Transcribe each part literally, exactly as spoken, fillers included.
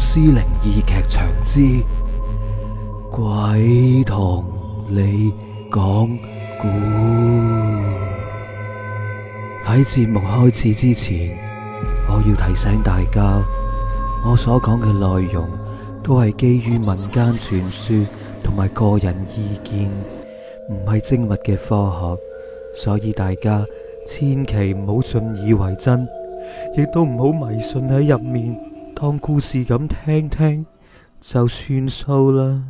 屍靈異劇場之鬼同你講故。喺節目開始之前，我要提醒大家，我所講嘅內容都係基於民間傳說同埋個人意見，唔係精密嘅科學，所以大家千祈唔好信以為真，亦都唔好迷信喺入面，當故事咁聽聽就算數啦。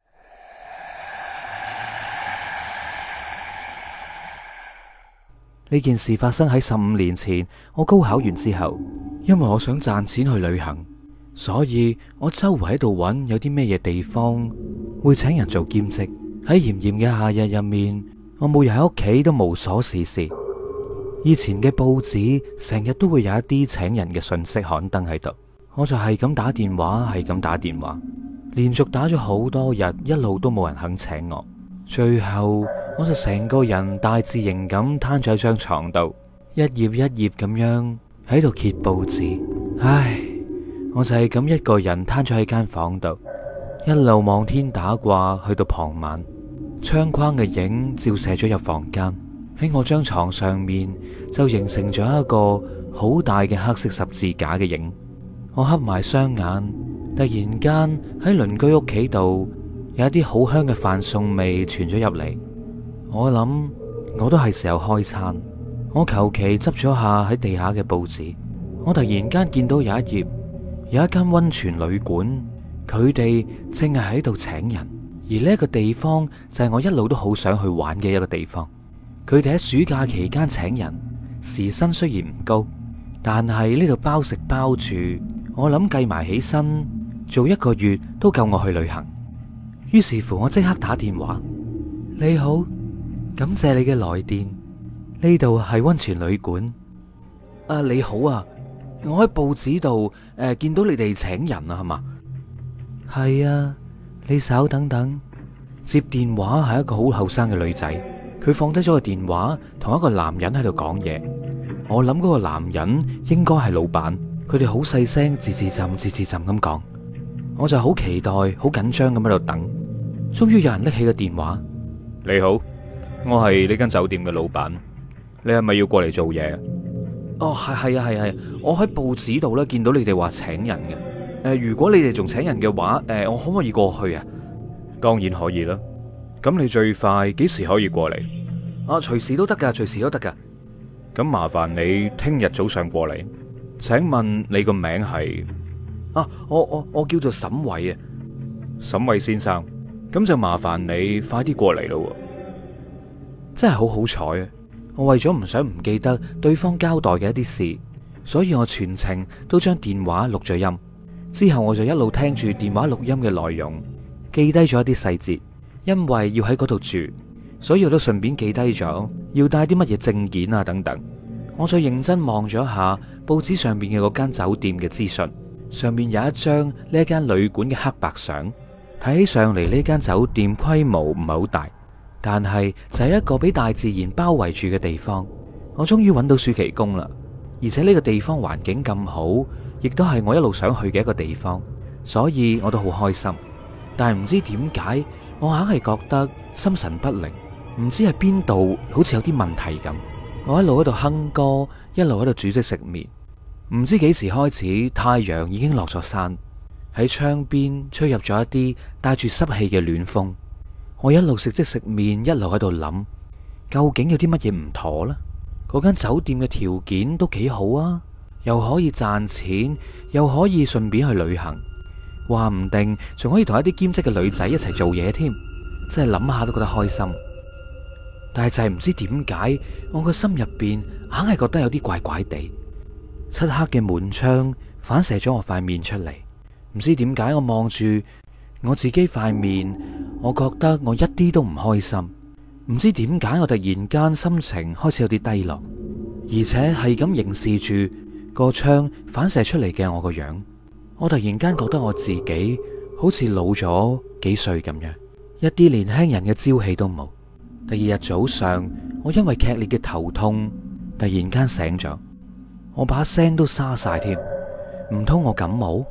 呢件事發生喺十五年前，我高考完之後，因為我想賺錢去旅行，所以我周圍喺度揾有啲咩嘢地方會請人做兼職。喺炎炎嘅夏日入面，我每日喺屋企都無所事事。以前嘅報紙成日都會有一啲請人嘅信息刊登喺度，我就係咁打電話，係咁打電話，連續打咗好多日，一路都冇人肯請我。最後我就成個人大字型咁攤咗喺張床度，一頁一頁咁樣喺度揭報紙。唉，我就係咁一個人攤咗喺間房度，一路望天打卦，去到傍晚，窗框嘅影照射咗入房間，喺我張床上面就形成咗一個好大嘅黑色十字架嘅影。我合埋雙眼，突然間喺鄰居屋企度有一啲好香嘅飯餸味傳咗入嚟。我諗我都係時候開餐。我求其執咗下喺地下嘅報紙，我突然間見到有一頁有一間溫泉旅館，佢哋正係喺度請人，而呢一個地方就係我一路都好想去玩嘅一個地方。佢哋喺暑假期間請人，時薪雖然唔高，但係呢度包食包住，我諗計埋起身做一個月都夠我去旅行。於是乎我即刻打電話：你好，感謝你嘅來電，呢度係溫泉旅館。啊，你好啊，我喺報紙度誒、呃、見到你哋請人啊，係嘛？係啊，你稍等等。接電話係一個好後生嘅女仔，佢放低咗個電話，同一個男人喺度講嘢。我諗嗰個男人應該係老闆，佢哋好細聲，字字浸字字浸咁講。我就好期待，好緊張咁喺度等。終於有人拎起個電話：你好，我係呢間酒店嘅老闆，你係咪要過嚟做嘢？哦，係係啊係係，我喺報紙度咧見到你哋話請人嘅。誒、呃，如果你哋仲請人嘅話，誒、呃，我可唔可以過去啊？當然可以啦。咁你最快幾時可以過嚟？啊，隨時都得噶，隨時都得噶。咁麻煩你聽日早上過嚟。請問你個名係？啊，我我我叫做沈偉啊，沈偉先生。咁就麻煩你快啲過嚟咯。真係好好彩啊！我為咗唔想唔記得對方交代嘅一啲事，所以我全程都將電話錄咗音。之後我就一路聽住電話錄音嘅內容，記低咗一啲細節。因為要喺嗰度住，所以我都順便記低咗要帶啲乜嘢證件啊等等。我再認真望咗下報紙上面嘅嗰間酒店嘅資訊，上面有一張呢一間旅館嘅黑白相。睇起上嚟呢間酒店規模唔係好大，但係就係一個俾大自然包圍住嘅地方。我終於揾到暑期工啦，而且呢個地方環境咁好，亦都係我一路想去嘅一個地方，所以我都好開心。但係唔知點解，我硬係覺得心神不寧，唔知係邊度好似有啲問題咁。我一路喺度哼歌，一路喺度煮即食麵。唔知幾時開始，太陽已經落咗山。喺窗邊吹入咗一啲帶住濕氣嘅暖風，我一路食即食麵，一路喺度諗，究竟有啲乜嘢唔妥呢？嗰間酒店嘅條件都幾好啊，又可以賺錢，又可以順便去旅行，話唔定仲可以同一啲兼職嘅女仔一齊做嘢添，真係諗下都覺得開心。但係就係唔知點解，我個心入邊硬係覺得有啲怪怪地。漆黑嘅門窗反射咗我塊面出嚟。唔知點解，我望住我自己塊面，我覺得我一啲都唔開心。唔知點解，我突然間心情開始有啲低落，而且係咁凝視住個窗反射出嚟嘅我個樣。我突然間覺得我自己好似老咗幾歲咁樣，一啲年輕人嘅朝氣都冇。第二日早上，我因為劇烈嘅頭痛，突然間醒咗，我把聲都沙晒添。唔通我感冒？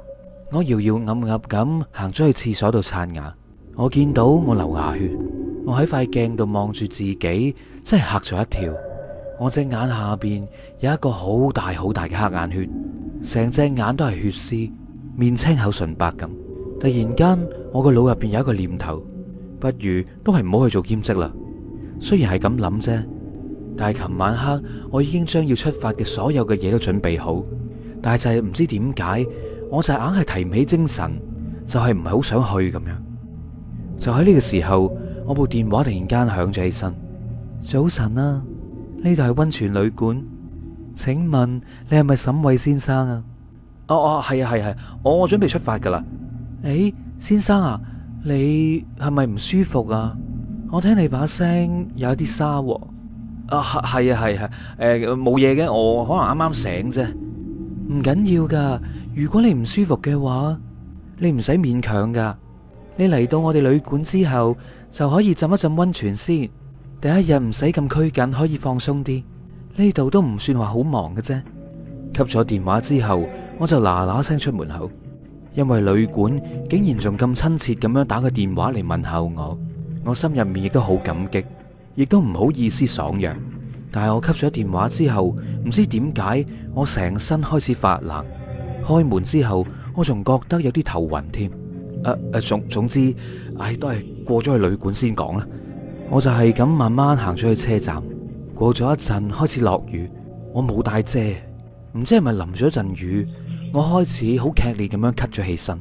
我搖搖噏噏咁行咗去廁所度刷牙，我見到我流牙血，我喺塊鏡度望住自己，真係嚇咗一跳。我隻眼下邊有一個好大好大嘅黑眼血，成隻眼都係血絲，面青口唇白咁。突然間，我個腦入邊有一個念頭，不如都係唔好去做兼職啦。雖然係咁諗啫，但係琴晚黑我已經將要出發嘅所有嘅嘢都準備好，但係就係唔知點解，我就係硬係提唔起精神，就係唔係好想去咁樣。就喺呢個時候，我部電話突然間響咗起身。早晨啊，呢度係溫泉旅館，請問你係咪沈偉先生啊？哦哦，係啊係係，我我準備出發噶啦。誒，先生啊，你係咪唔舒服啊？我聽你把聲有啲沙喎。啊係啊係係，誒冇嘢嘅，我可能啱啱醒啫。唔緊要噶，如果你唔舒服嘅話，你唔使勉強噶。你嚟到我哋旅館之後，就可以浸一浸溫泉先。第一日唔使咁拘謹，可以放鬆啲。呢度都唔算話好忙嘅啫。吸咗電話之後，我就嗱嗱聲出門口，因為旅館竟然仲咁親切咁樣打個電話嚟問候我，我心入面亦都好感激，亦都唔好意思爽約。但係我吸咗電話之後，唔知點解我成身開始發冷。開門之後，我仲覺得有啲頭暈添。誒誒，總總之，唉，都係過咗去旅館先講啦。我就係咁慢慢行咗去車站。過咗一陣，開始落雨，我冇帶遮，唔知係咪淋咗一陣雨，我開始好劇烈咁樣咳咗起身。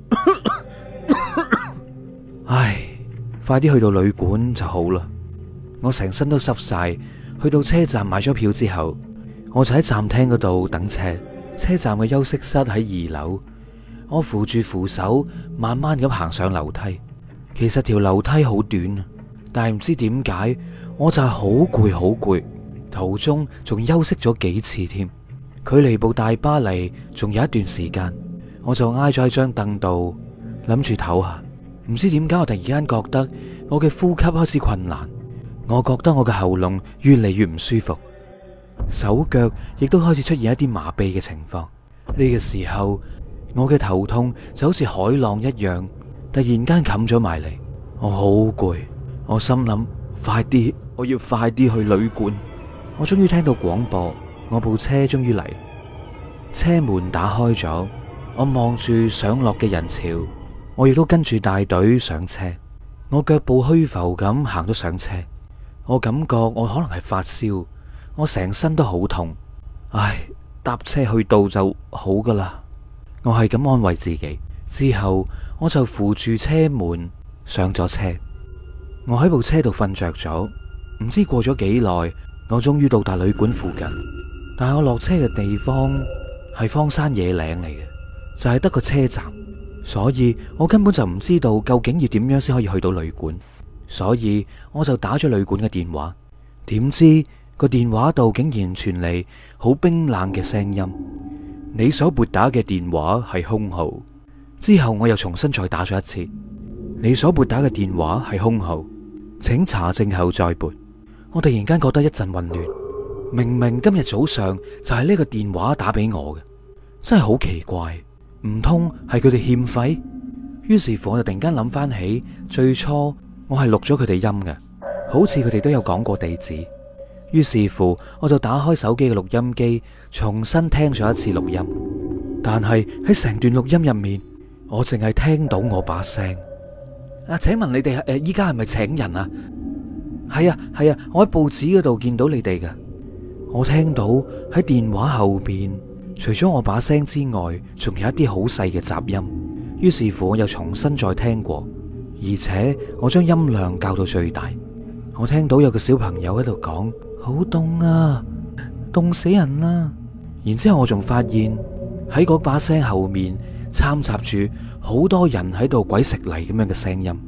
唉，快啲去到旅館就好啦。我成身都濕晒。去到車站買咗票之後，我就喺站廳嗰度等車。車站嘅休息室喺二樓，我扶住扶手，慢慢咁行上樓梯。其實條樓梯好短，但係唔知點解，我就係好攰好攰。途中仲休息咗幾次添，距離部大巴黎仲有一段時間，我就挨咗喺張凳度諗住唞下。唔知點解，我突然間覺得我嘅呼吸開始困難。我覺得我嘅喉嚨越嚟越唔舒服，手腳亦都開始出現一啲麻痹嘅情況。呢個時候，我嘅頭痛就好似海浪一樣，突然間冚咗埋嚟。我好攰，我心諗快啲，我要快啲去旅館。我終於聽到廣播，我部車終於嚟，車門打開咗，我望住上落嘅人潮，我亦都跟住大隊上車。我腳步虛浮咁行咗上車。我感覺我可能係發燒，我成身都好痛。唉，搭車去到就好噶啦。我係咁安慰自己。之後我就扶住車門上咗車。我喺部車度瞓着咗，唔知過咗幾耐，我終於到達旅館附近。但係我落車嘅地方係荒山野嶺嚟嘅，就係得個車站，所以我根本就唔知道究竟要點樣先可以去到旅館。所以我就打咗旅館嘅電話，點知個電話度竟然傳嚟好冰冷嘅聲音：你所撥打嘅電話係空號。之後我又重新再打咗一次：你所撥打嘅電話係空號，請查證後再撥。我突然間覺得一陣混亂，明明今日早上就係呢個電話打俾我嘅，真係好奇怪，唔通係佢哋欠費？於是乎我就突然間諗翻起最初我係錄咗佢哋音嘅，好似佢哋都有講過地址。於是乎，我就打開手機嘅錄音機，重新聽咗一次錄音。但係喺成段錄音入面，我淨係聽到我把聲。啊，請問你哋誒，依家係咪請人啊？係啊，係啊，我喺報紙嗰度見到你哋嘅。我聽到喺電話後邊，除咗我把聲之外，仲有一啲好細嘅雜音。於是乎，我又重新再聽過。而且我將音量校到最大，我聽到有個小朋友喺度講：好凍啊，凍死人啦！然之後我仲發現喺嗰把聲後面摻雜住好多人喺度鬼食泥咁樣嘅聲音。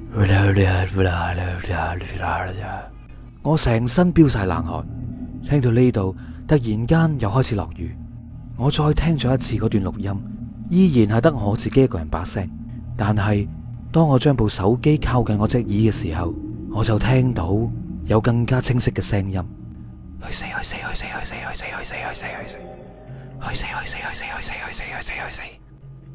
我成身飆晒冷汗，聽到呢度突然間又開始落雨。我再聽咗一次嗰段錄音，依然係得我自己一個人把聲，但係當我將部手機靠近我隻耳嘅時候，我就聽到有更加清晰嘅聲音。去死去死去死去死去死去死去死去死去死去死去死去死去死去死去死去死去死！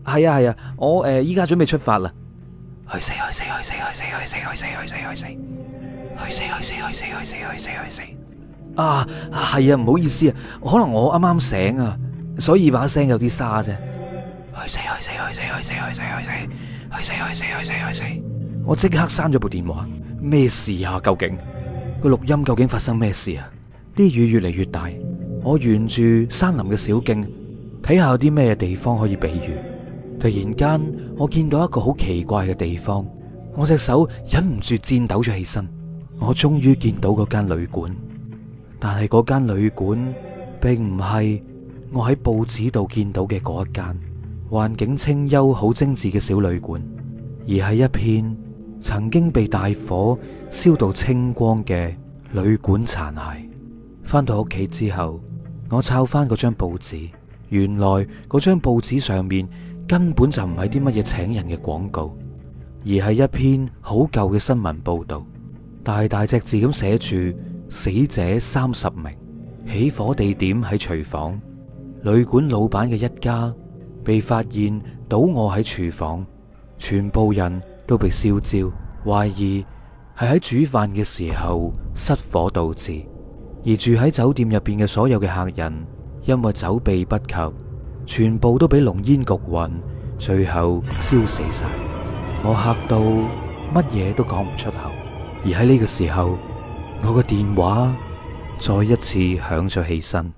係啊係啊，我誒依家準備出發啦。去死去死去死去死去死去死去死去死去死去死去死去死去死去死啊！係啊，唔好意思啊，可能我啱啱醒啊，所以把聲有啲沙啫。去死去死去死去死去死去死去死去死去死去死！我即刻閂咗部電話。咩事啊？究竟個錄音究竟發生咩事啊？啲雨越嚟越大，我沿住山林嘅小徑睇下有啲咩地方可以避雨。突然間，我見到一個好奇怪嘅地方，我隻手忍唔住顫抖咗起身。我終於見到嗰間旅館，但係嗰間旅館並唔係我喺報紙度見到嘅嗰一間環境清幽、好精緻嘅小旅館，而係一片曾經被大火燒到清光嘅旅館殘骸。翻到屋企之後，我抄翻嗰張報紙，原來嗰張報紙上面根本就唔係啲乜嘢請人嘅廣告，而係一篇好舊嘅新聞報道，大大隻字咁寫住死者三十名，起火地點喺廚房，旅館老闆嘅一家被發現倒臥喺廚房，全部人都被燒焦，懷疑係喺煮飯嘅時候失火導致。而住喺酒店入邊嘅所有嘅客人，因為走避不及，全部都俾濃煙焗暈，最後燒死晒。我嚇到乜嘢都講唔出口。而喺呢個時候，我個電話再一次響咗起身。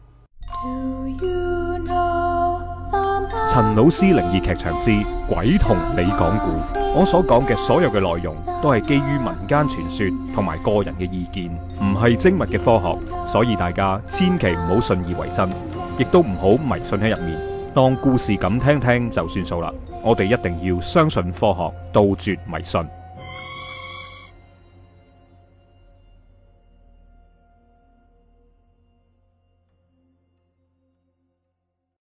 陳老師靈異劇場之鬼同你講故，我所講嘅所有嘅內容都係基於民間傳說同埋個人嘅意見，唔係精密嘅科學，所以大家千祈唔好信以為真，亦都唔好迷信喺入面，當故事咁聽聽就算數啦。我哋一定要相信科學，杜絕迷信。